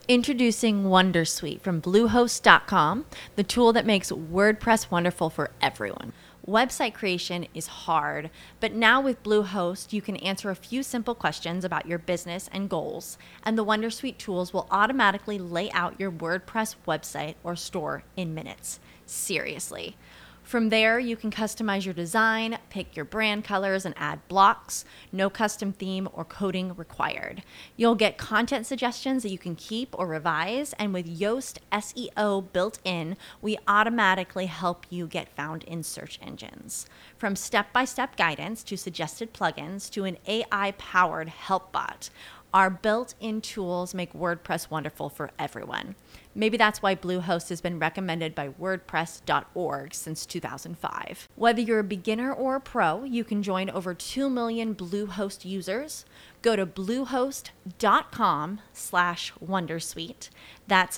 Introducing Wondersuite from Bluehost.com, the tool that makes WordPress wonderful for everyone. Website creation is hard, but now with Bluehost, you can answer a few simple questions about your business and goals, and the Wondersuite tools will automatically lay out your WordPress website or store in minutes. Seriously. From there, you can customize your design, pick your brand colors, and add blocks. No custom theme or coding required. You'll get content suggestions that you can keep or revise, and with Yoast SEO built in, we automatically help you get found in search engines. From step-by-step guidance to suggested plugins to an AI-powered help bot, our built-in tools make WordPress wonderful for everyone. Maybe that's why Bluehost has been recommended by WordPress.org since 2005. Whether you're a beginner or a pro, you can join over 2 million Bluehost users. Go to bluehost.com/wondersuite. That's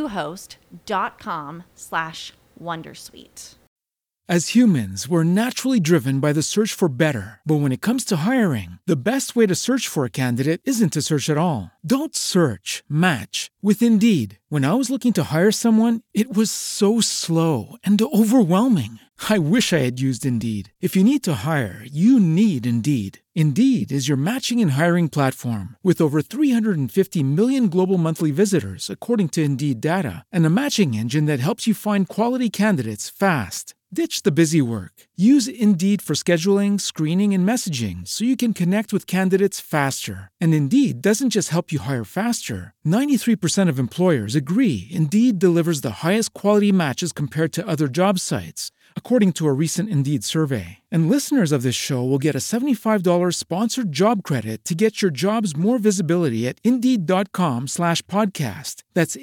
bluehost.com/wondersuite. As humans, we're naturally driven by the search for better. But when it comes to hiring, the best way to search for a candidate isn't to search at all. Don't search, match with Indeed. When I was looking to hire someone, it was so slow and overwhelming. I wish I had used Indeed. If you need to hire, you need Indeed. Indeed is your matching and hiring platform with over 350 million global monthly visitors, according to Indeed data, and a matching engine that helps you find quality candidates fast. Ditch the busy work. Use Indeed for scheduling, screening, and messaging so you can connect with candidates faster. And Indeed doesn't just help you hire faster. 93% of employers agree Indeed delivers the highest quality matches compared to other job sites, according to a recent Indeed survey. And listeners of this show will get a $75 sponsored job credit to get your jobs more visibility at Indeed.com/podcast. That's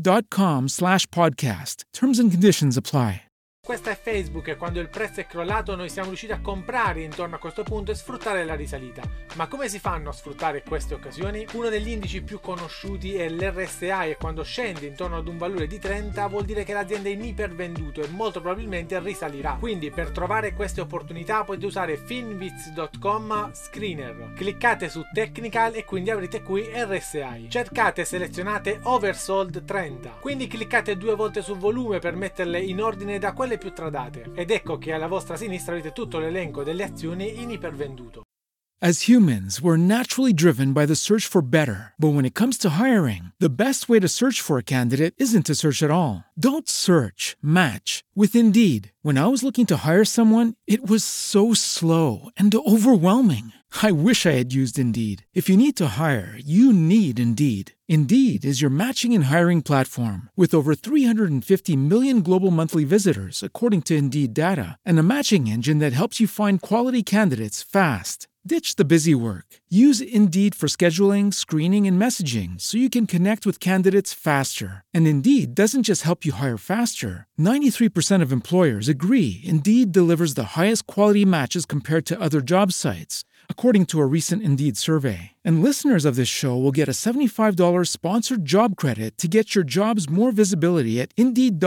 Indeed.com/podcast. Terms and conditions apply. Questa è Facebook e quando il prezzo è crollato noi siamo riusciti a comprare intorno a questo punto e sfruttare la risalita. Ma come si fanno a sfruttare queste occasioni? Uno degli indici più conosciuti è l'RSI e quando scende intorno ad un valore di 30 vuol dire che l'azienda è in ipervenduto e molto probabilmente risalirà. Quindi per trovare queste opportunità potete usare finviz.com Screener. Cliccate su Technical e quindi avrete qui RSI. Cercate e selezionate Oversold 30. Quindi cliccate 2 volte sul volume per metterle in ordine da quelle più tradate ed ecco che alla vostra sinistra avete tutto l'elenco delle azioni in ipervenduto. As humans, we're naturally driven by the search for better. But when it comes to hiring, the best way to search for a candidate isn't to search at all. Don't search, match with Indeed. When I was looking to hire someone, it was so slow and overwhelming. I wish I had used Indeed. If you need to hire, you need Indeed. Indeed is your matching and hiring platform with over 350 million global monthly visitors, according to Indeed data, and a matching engine that helps you find quality candidates fast. Ditch the busy work. Use Indeed for scheduling, screening, and messaging so you can connect with candidates faster. And Indeed doesn't just help you hire faster. 93% of employers agree Indeed delivers the highest quality matches compared to other job sites, according to a recent Indeed survey. And listeners of this show will get a $75 sponsored job credit to get your jobs more visibility at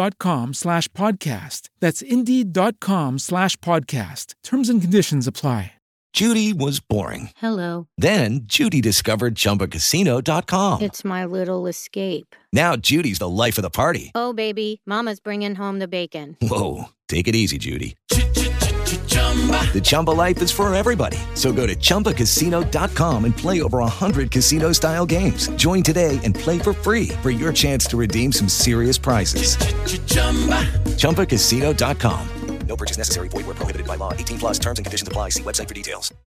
Indeed.com/podcast. That's Indeed.com/podcast. Terms and conditions apply. Judy was boring. Hello. Then Judy discovered ChumbaCasino.com. It's my little escape. Now Judy's the life of the party. Oh, baby, mama's bringing home the bacon. Whoa, take it easy, Judy. The Chumba life is for everybody. So go to ChumbaCasino.com and play over 100 casino-style games. Join today and play for free for your chance to redeem some serious prizes. ChumbaCasino.com. No purchase necessary. Void where prohibited by law. 18+ terms and conditions apply. See website for details.